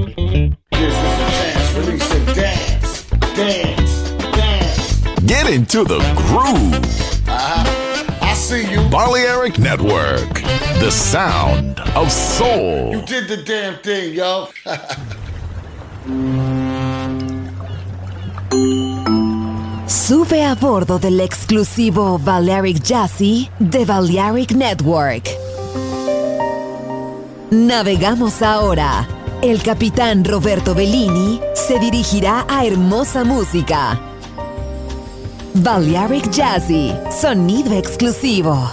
This is the chance, release and dance, dance, dance. Get into the groove. I see you. Balearic Network, the sound of soul. You did the damn thing, yo. Sube a bordo del exclusivo Balearic Jazzy de Balearic Network. Navegamos ahora. El capitán Roberto Bellini se dirigirá a hermosa música. Balearic Jazzy, sonido exclusivo.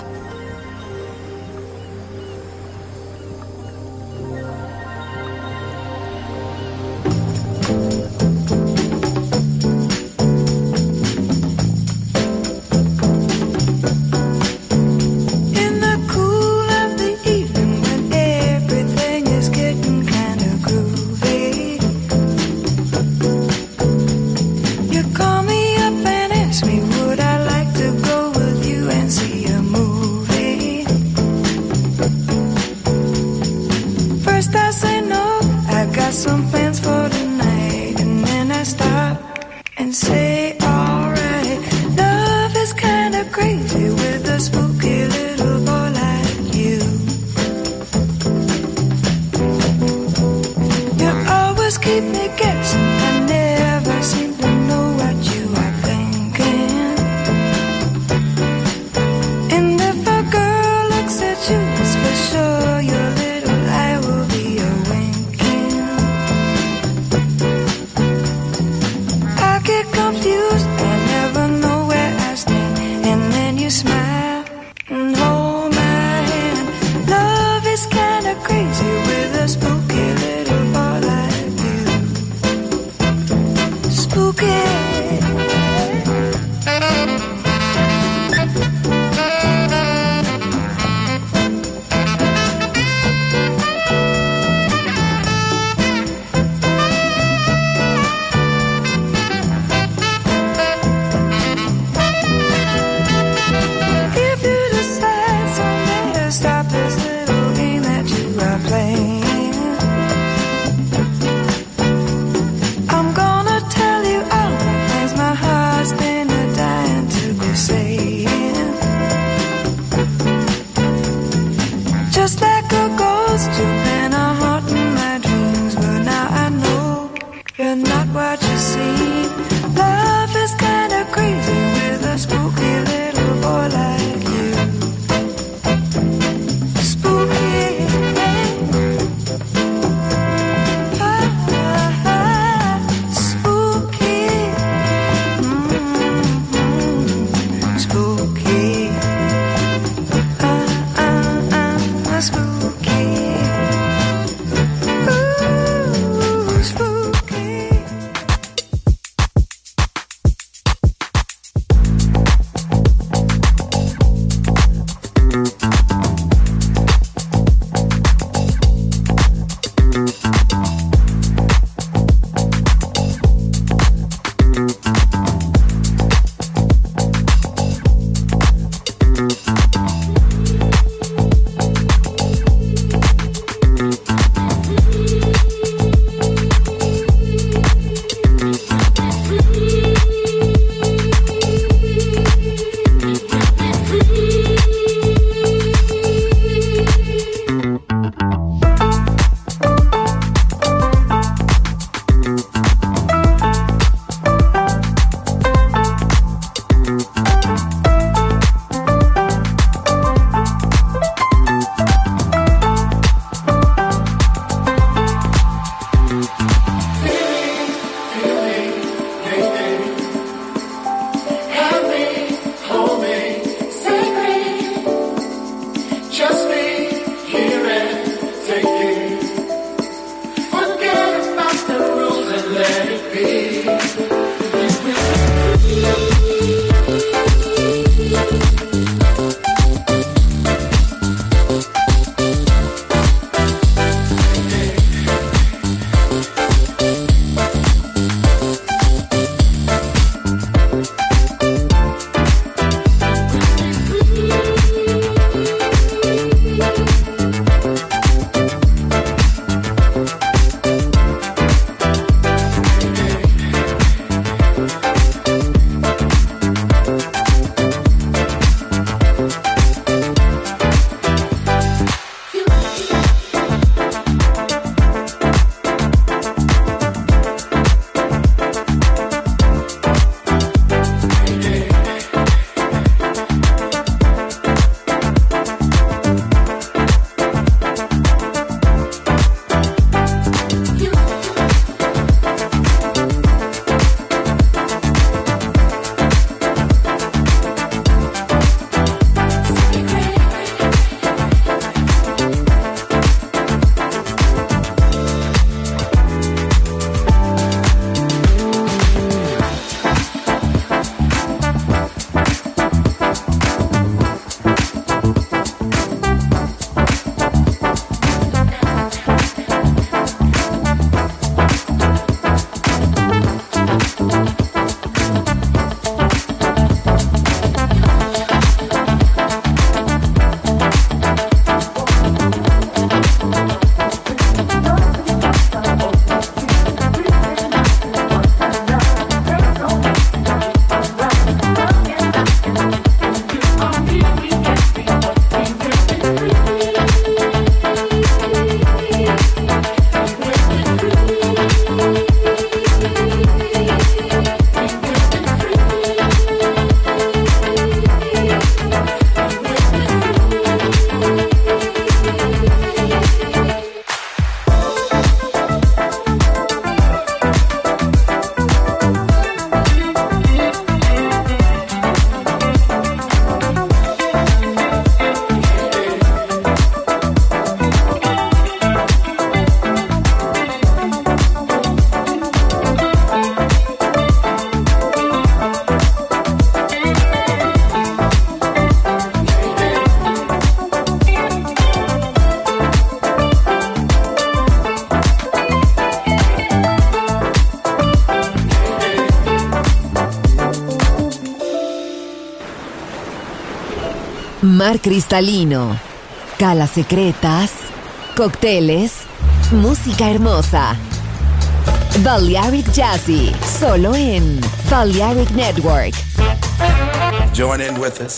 mar cristalino, calas secretas, cócteles, música hermosa. Balearic Jazzy, solo en Balearic Network. Join in with us.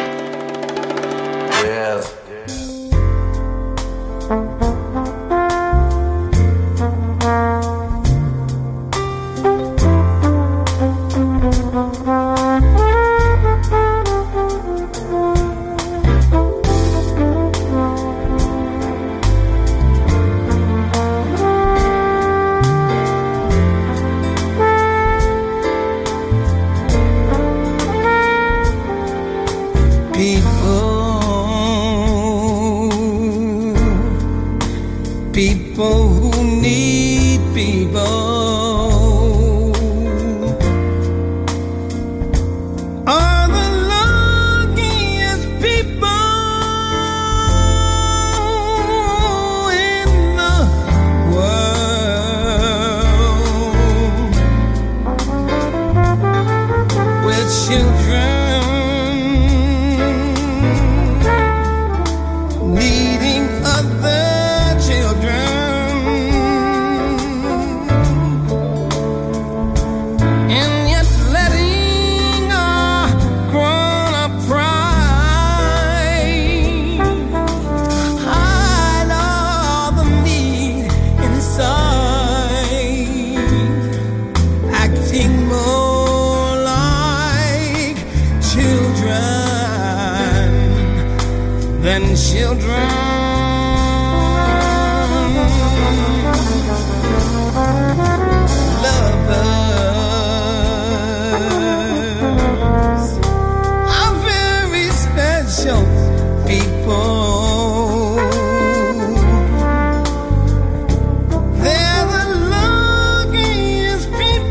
Yes. People who need people are the luckiest people in the world. With children needing other children, lovers are very special people. They're the luckiest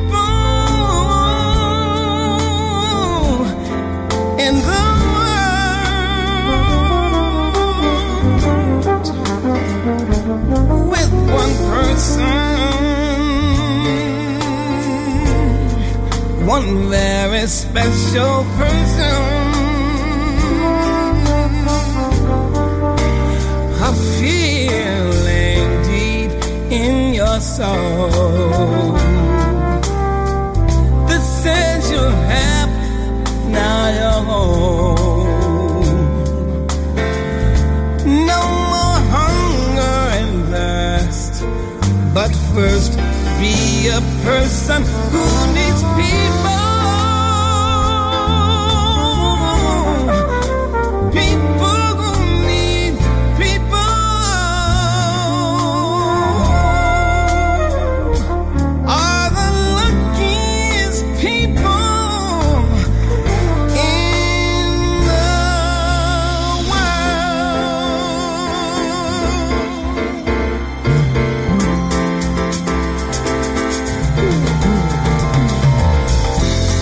people in the with one person, one very special person, a feeling deep in your soul that says you're happy, now you're home. No more hunger and thirst, but first be a person who needs people. People who need people are the luckiest people in the world.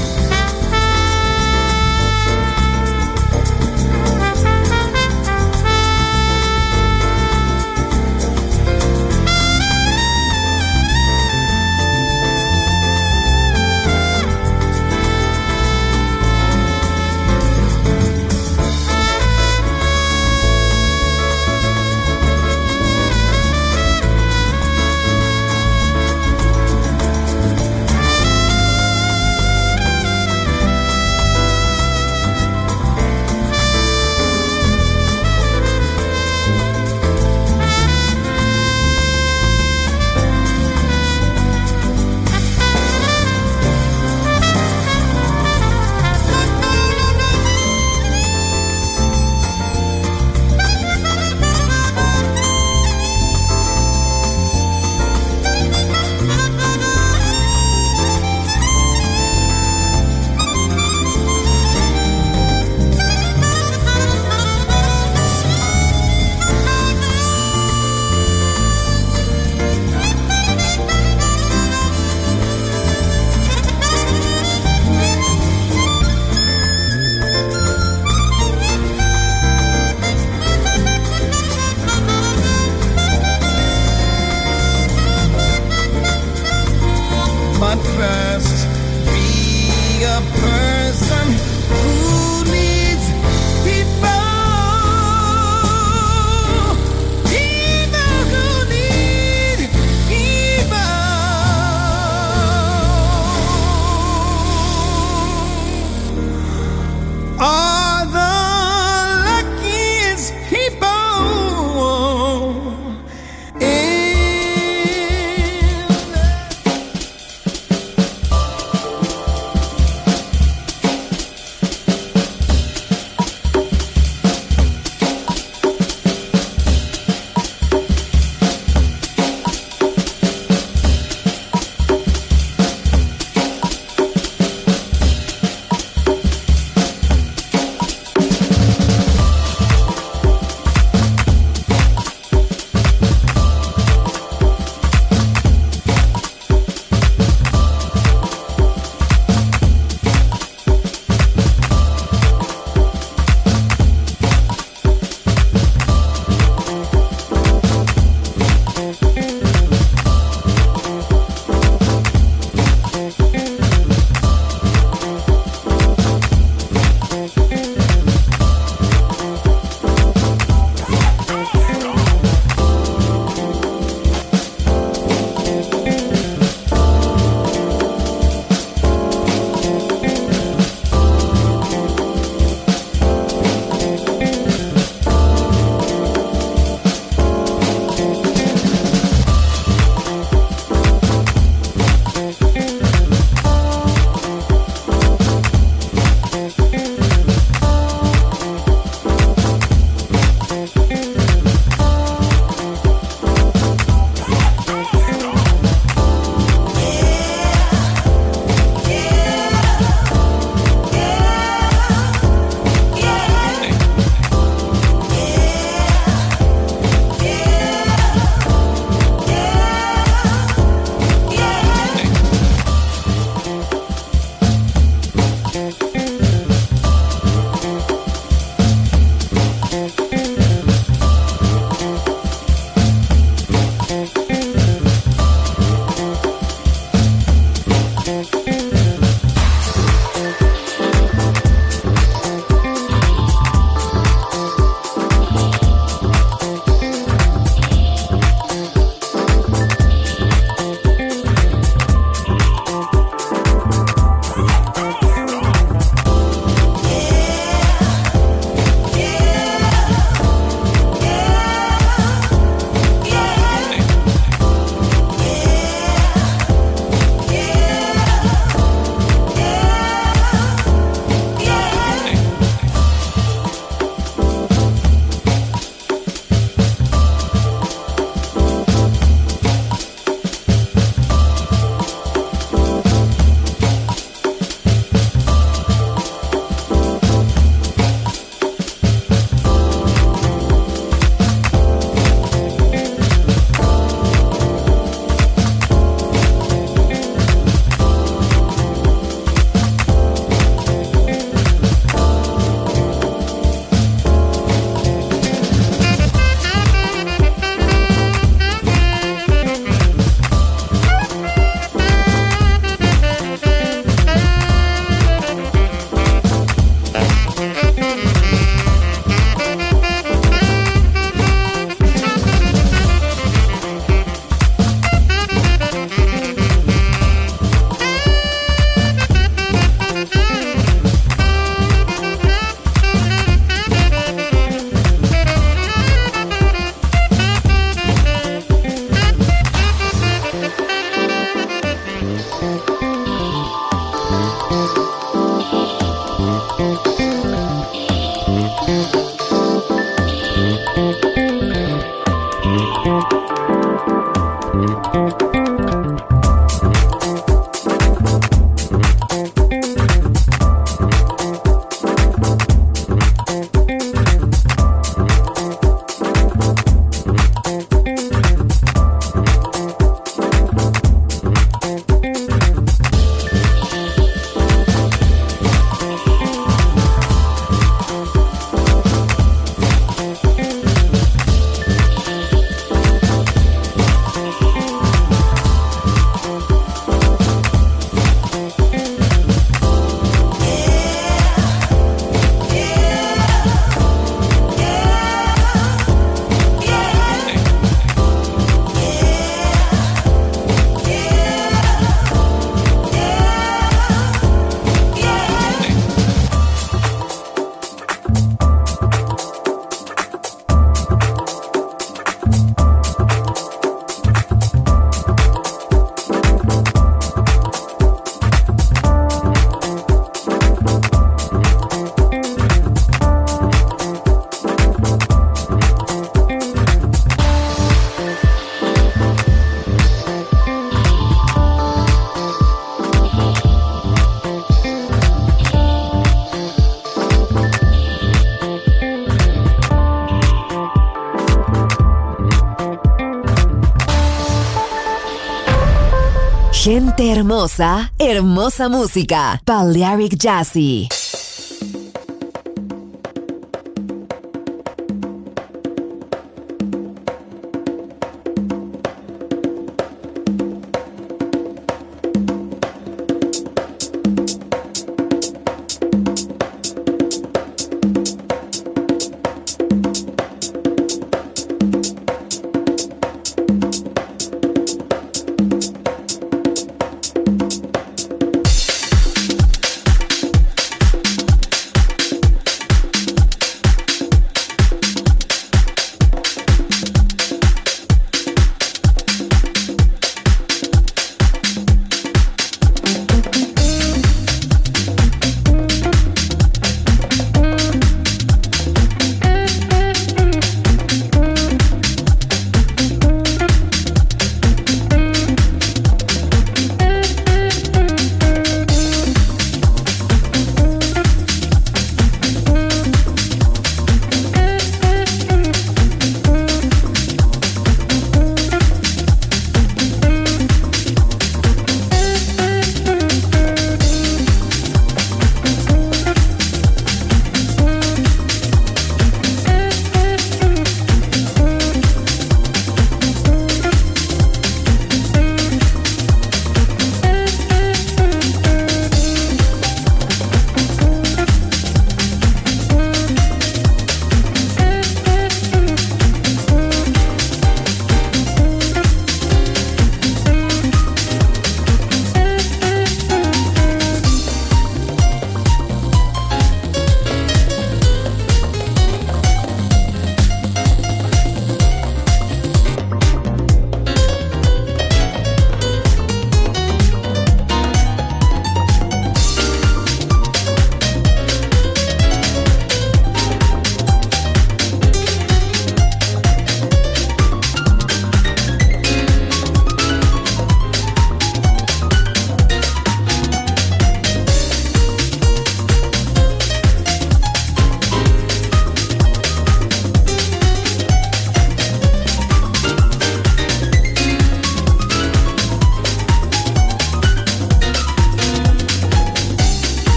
Gente hermosa, hermosa música. Balearic Jazzy.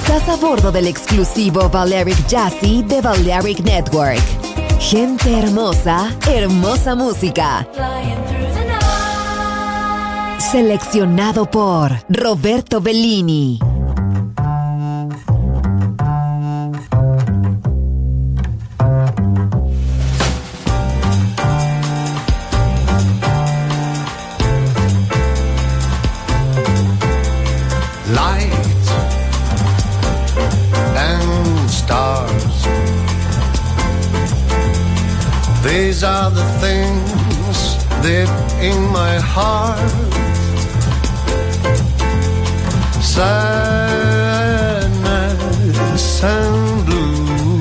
Estás a bordo del exclusivo Balearic Jazzy de Balearic Network. Gente hermosa, hermosa música. Seleccionado por Roberto Bellini. These are the things deep in my heart. Sadness and blue.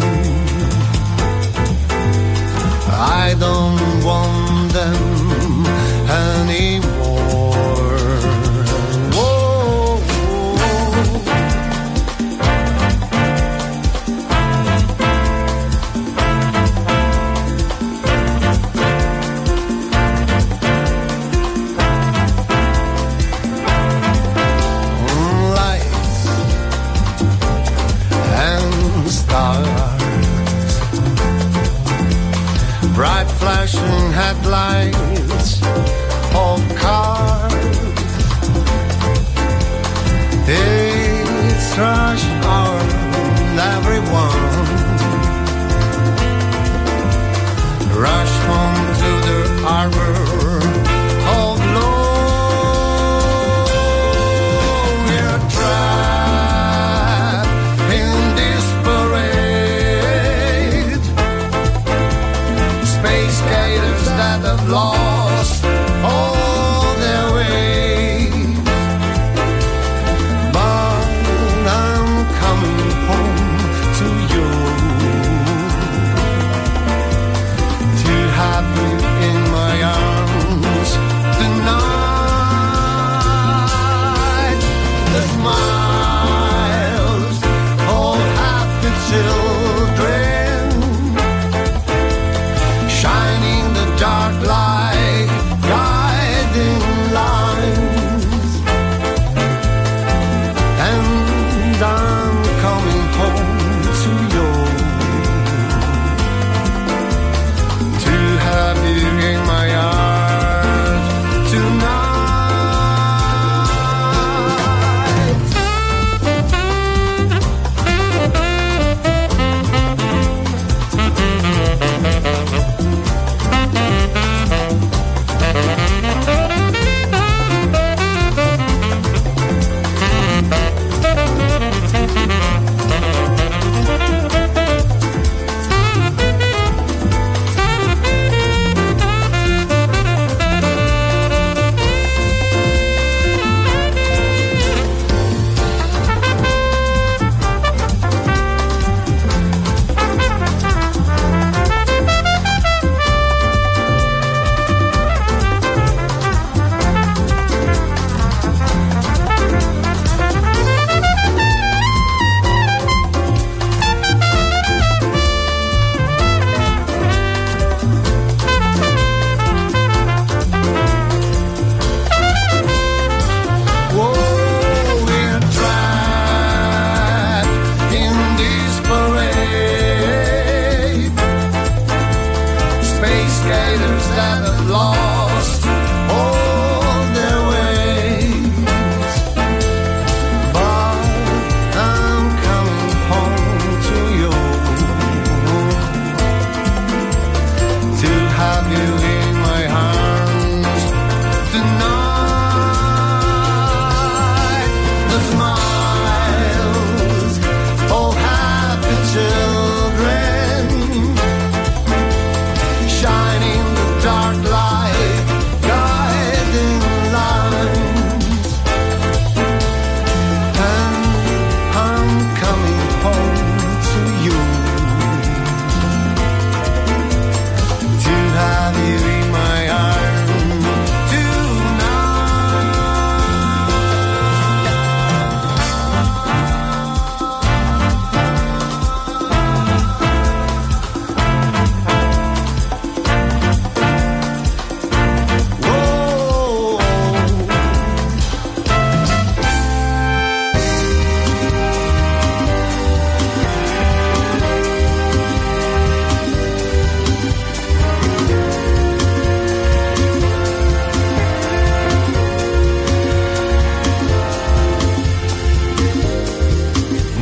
I don't want them anymore. Whoa, bright flashing headlights of cars. It's rush hour, everyone rush home to the harbor of love. We're trapped in this parade. Space gators that have lost all their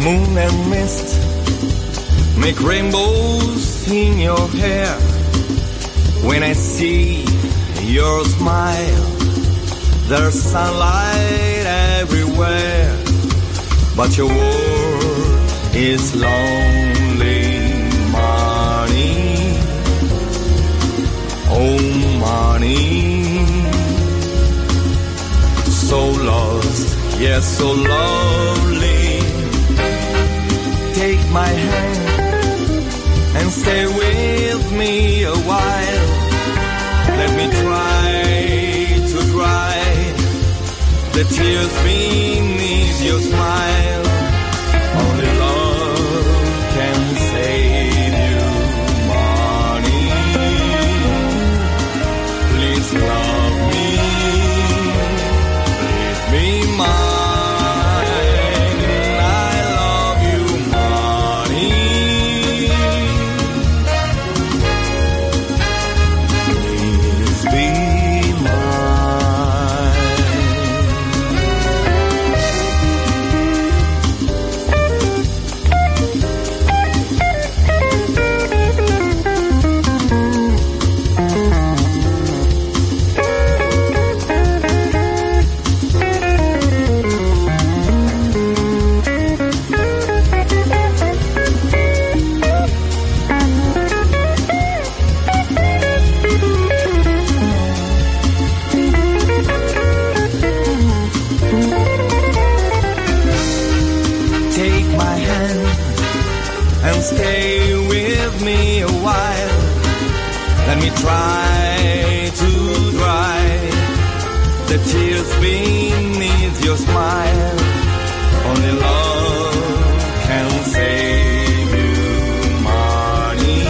moon and mist make rainbows in your hair. When I see your smile, there's sunlight everywhere. But your world is lonely money. Oh, money. So lost, yes, so lovely. Take my hand and stay with me a while. Let me try to dry the tears beneath your smile. Only love can save you, money. Please love me, please be mine. Stay with me a while. Let me try to dry the tears beneath your smile. Only love can save you, money.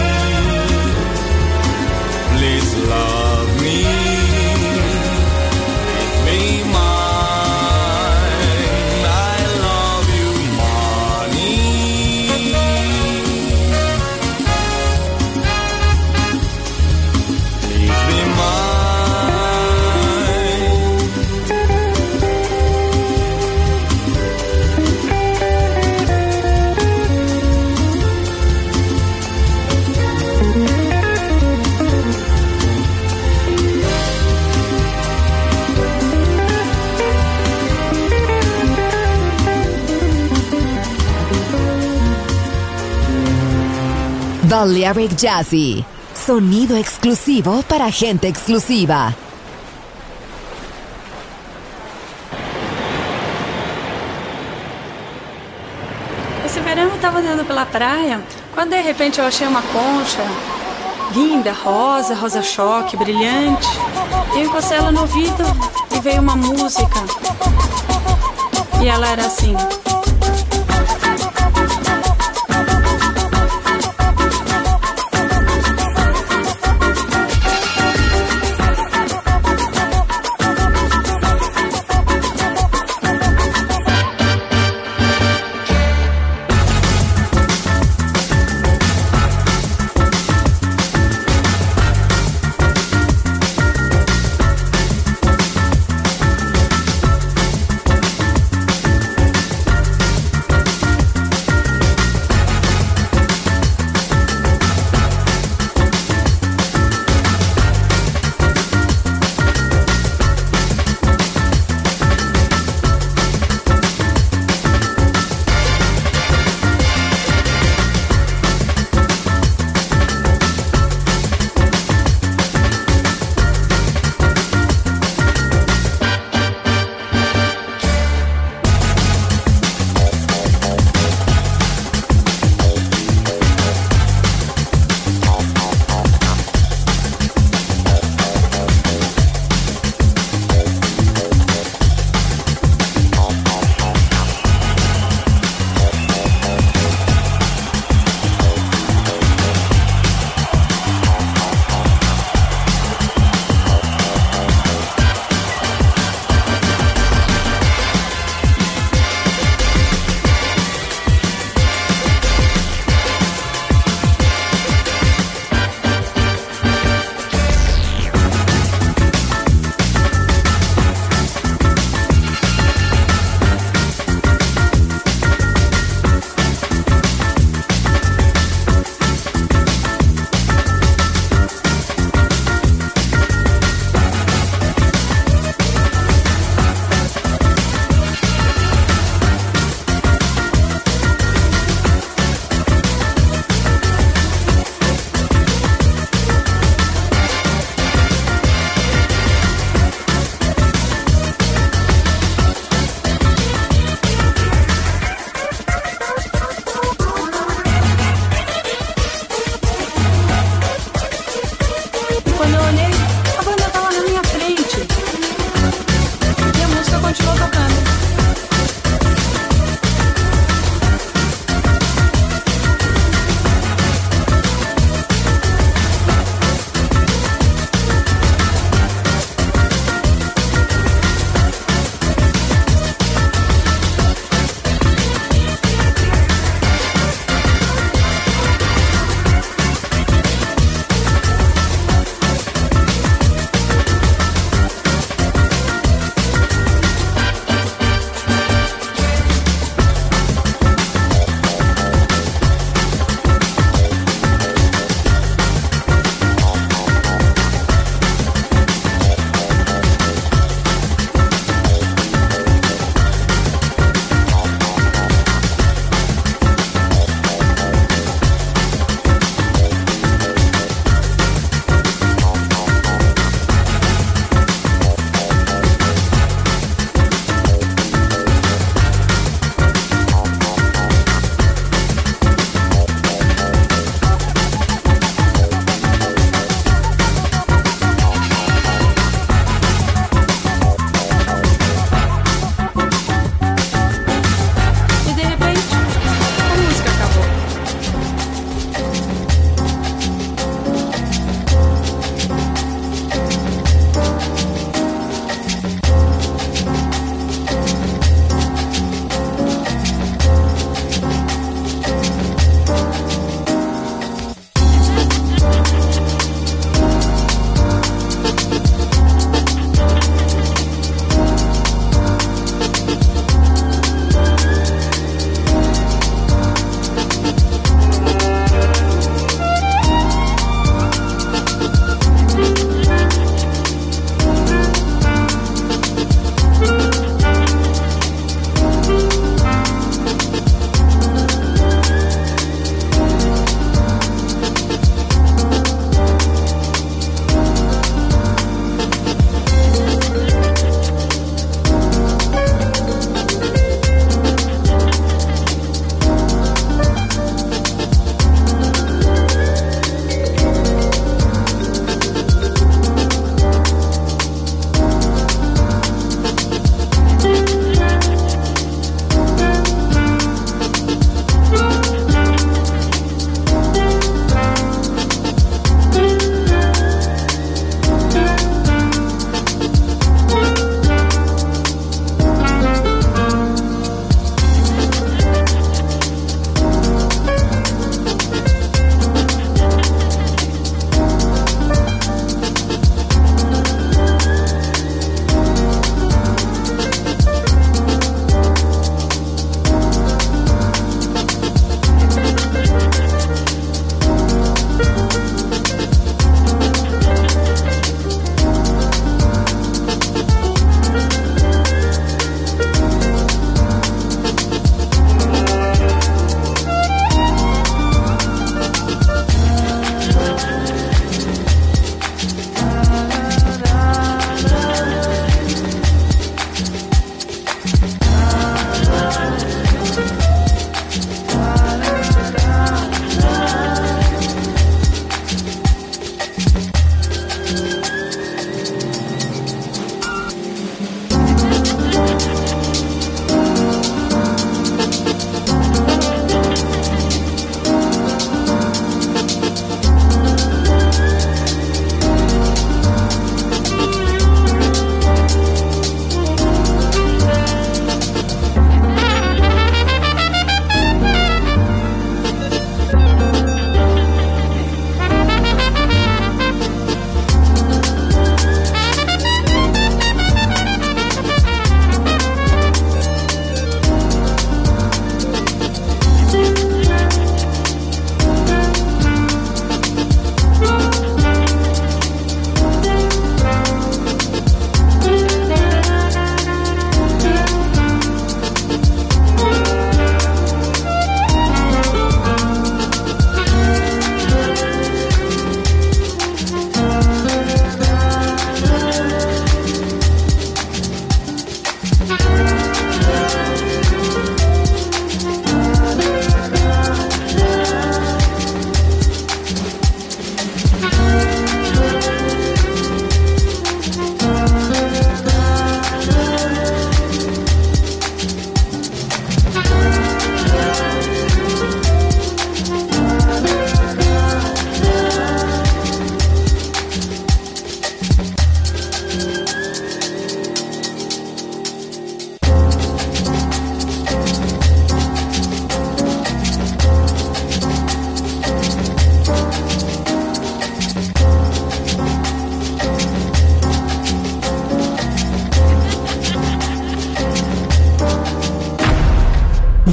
Please love me, make me mine. I love you, money. Balearic Jazzy, sonido exclusivo para gente exclusiva. Esse verão eu tava andando pela praia, quando de repente eu achei uma concha linda, rosa, rosa choque, brilhante. Eu encostei ela no ouvido e veio uma música. E ela era assim: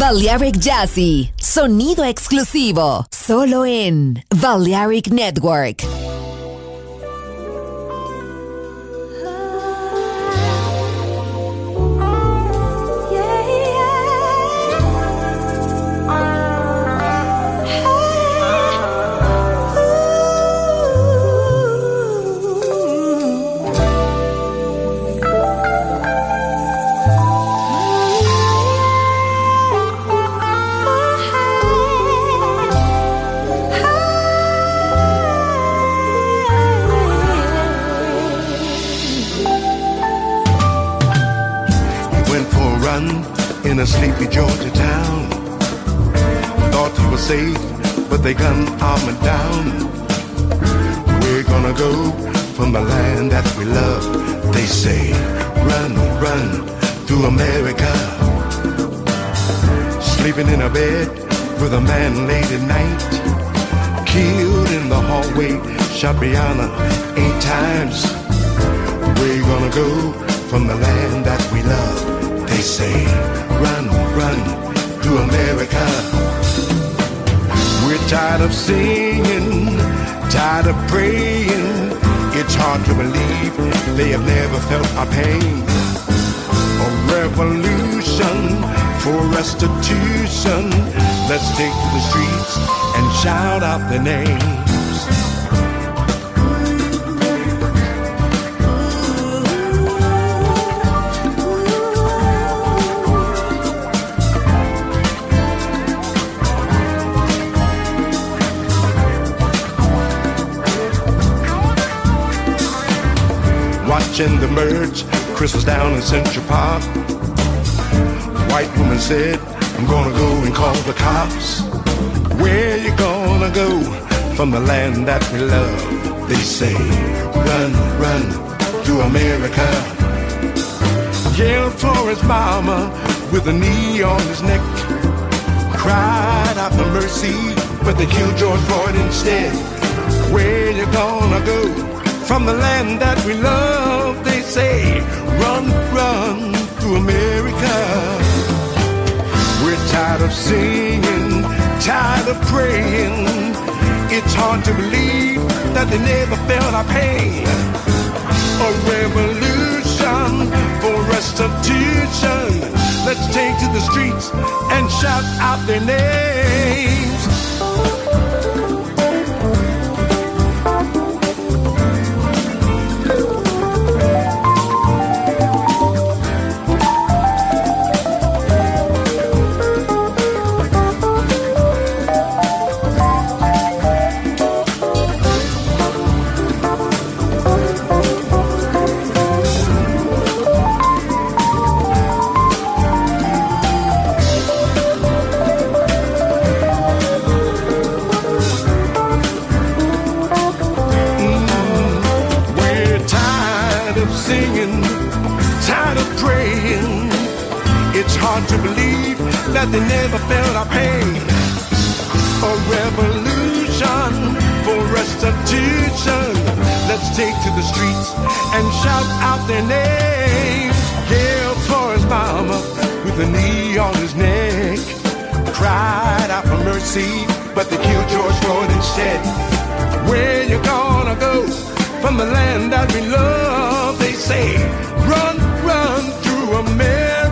Balearic Jazzy, sonido exclusivo, solo en Balearic Network. In a sleepy Georgia town, thought he was safe, but they gunned him down. We're gonna go from the land that we love. They say, run, run through America. Sleeping in a bed with a man late at night, killed in the hallway, shot Brianna 8 times. We're gonna go from the land that we love. They say, run, run to America. We're tired of singing, tired of praying. It's hard to believe they have never felt our pain. A revolution for restitution. Let's take to the streets and shout out their names. Watching the merge, Chris was down in Central Park. White woman said, I'm gonna go and call the cops. Where you gonna go from the land that we love? They say, run, run to America. Yelled for his mama with a knee on his neck. Cried out for mercy, but they killed George Floyd instead. Where you gonna go from the land that we love? They say, run, run to America. We're tired of singing, tired of praying. It's hard to believe that they never felt our pain. A revolution for restitution. Let's take to the streets and shout out their names. To believe that they never felt our pain. A revolution for restitution. Let's take to the streets and shout out their names. Yelled for his mama with a knee on his neck. Cried out for mercy, but they killed George Floyd instead. Where you gonna go from the land that we love? They say, run, run through America.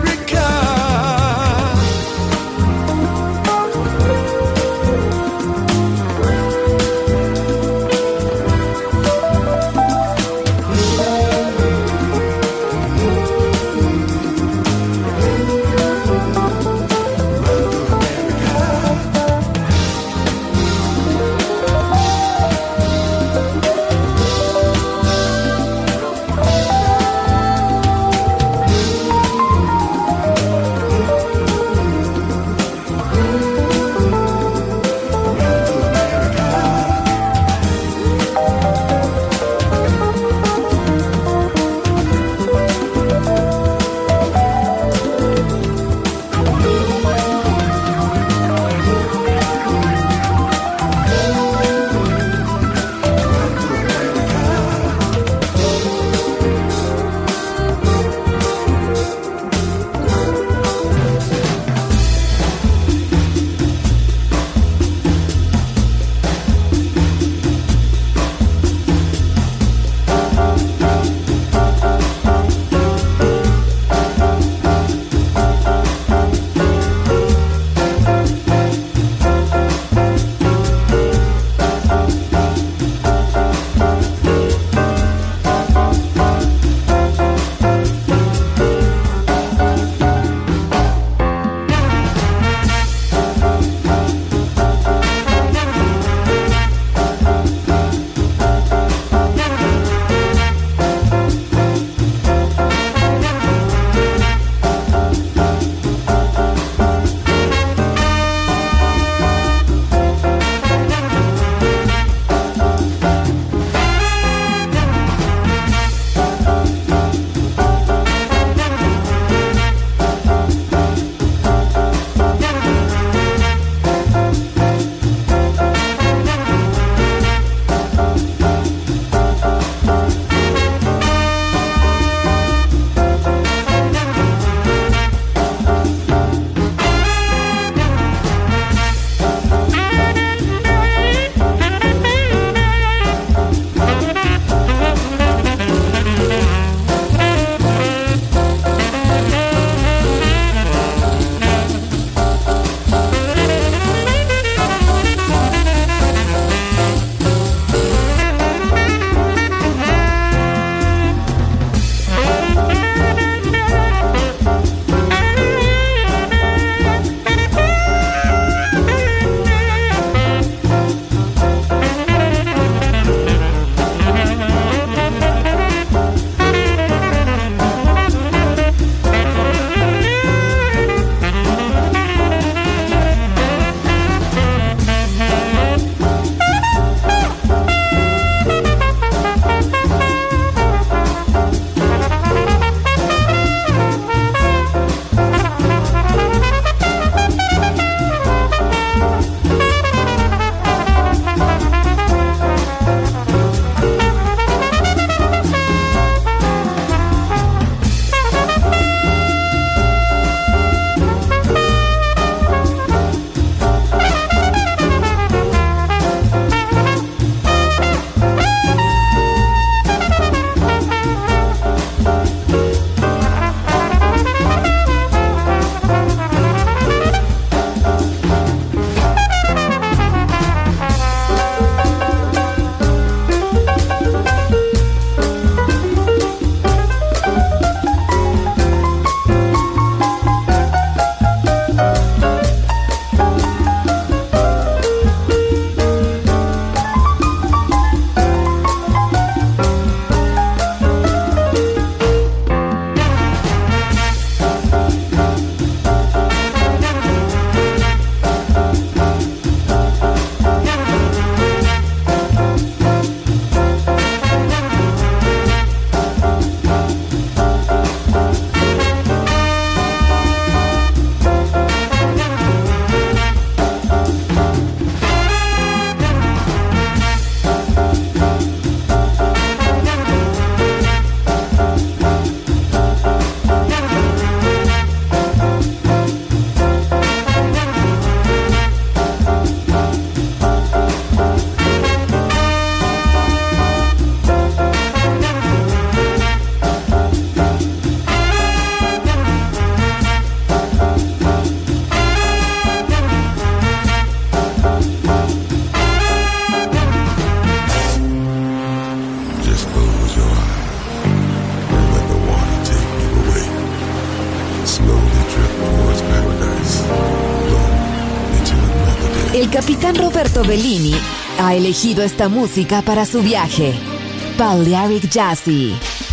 El capitán Roberto Bellini ha elegido esta música para su viaje. Balearic Jazzy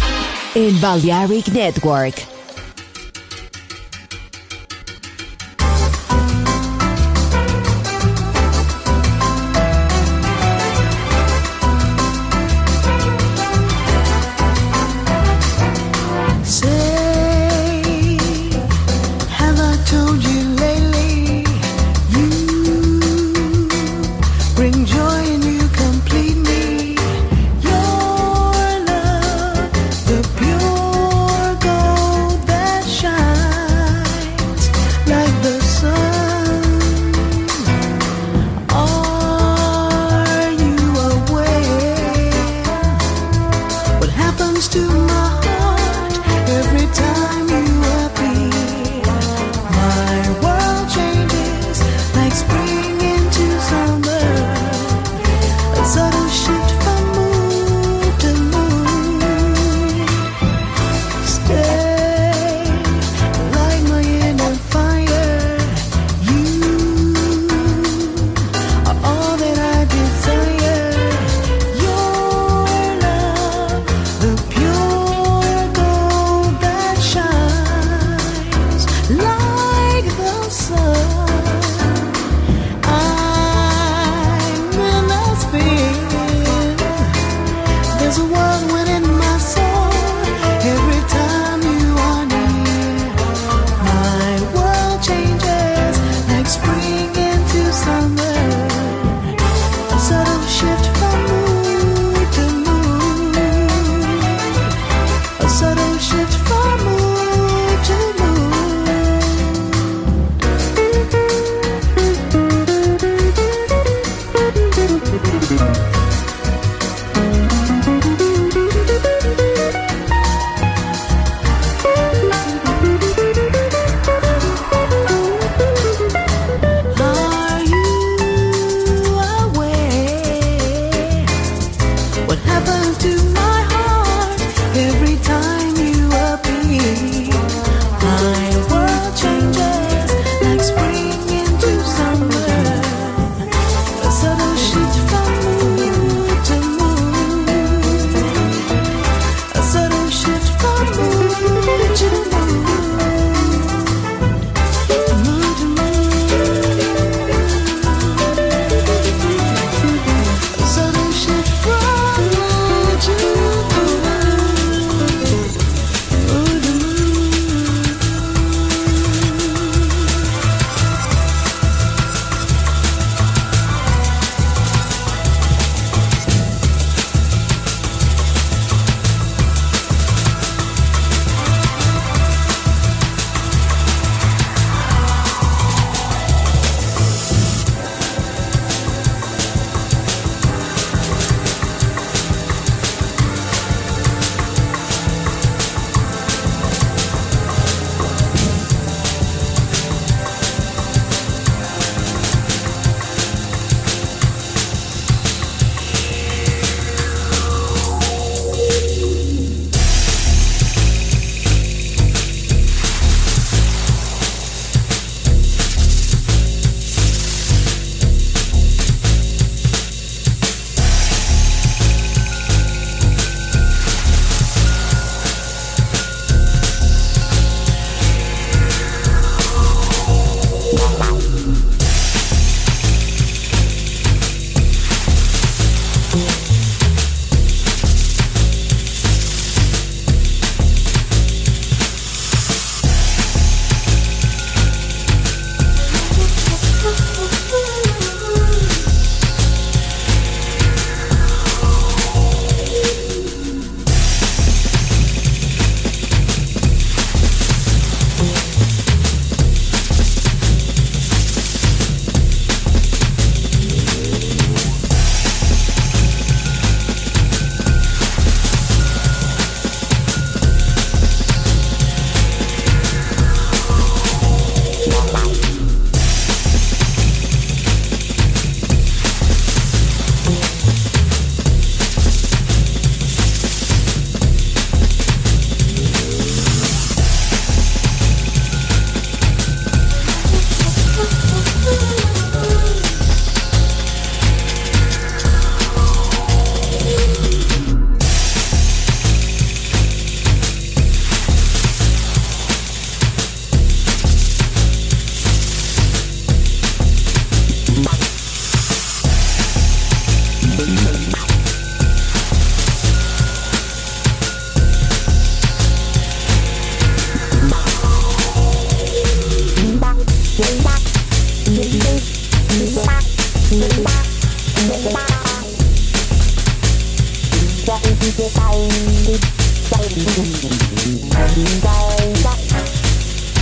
en Balearic Network. Are you